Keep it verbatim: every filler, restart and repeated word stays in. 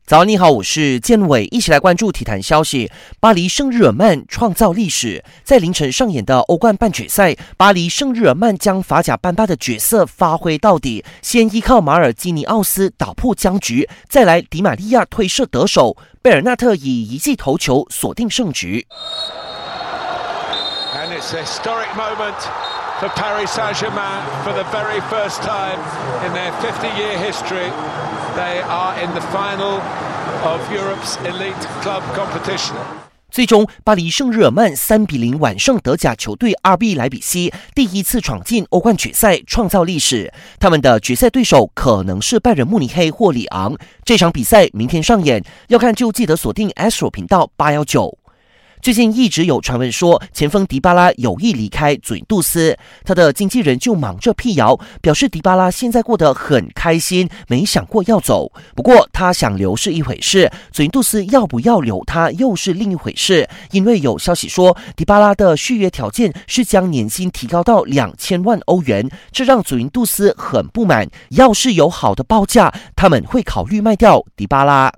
早安，你好，我是建伟，一起来关注体坛消息。巴黎圣日耳曼创造历史，在凌晨上演的欧冠半决赛，巴黎圣日耳曼将法甲班巴的角色发挥到底，先依靠马尔基尼奥斯打破僵局，再来迪玛利亚推射得手，贝尔纳特以一记头球锁定胜局。 And it's a historic moment for Paris Saint-Germain for the very first time in their fifty-year history. They are in the final of Europe's elite club competition. 最终，巴黎圣日耳曼三比零完胜德甲球队 R B 莱比锡，第一次闯进欧冠决赛，创造历史。他们的决赛对手可能是拜仁慕尼黑或里昂。这场比赛明天上演，要看就记得锁定 Astro 频道八一九。最近一直有传闻说前锋迪巴拉有意离开祖云杜斯，他的经纪人就忙着辟谣，表示迪巴拉现在过得很开心，没想过要走。不过他想留是一回事，祖云杜斯要不要留他又是另一回事，因为有消息说迪巴拉的续约条件是将年薪提高到两千万欧元，这让祖云杜斯很不满。要是有好的报价，他们会考虑卖掉迪巴拉。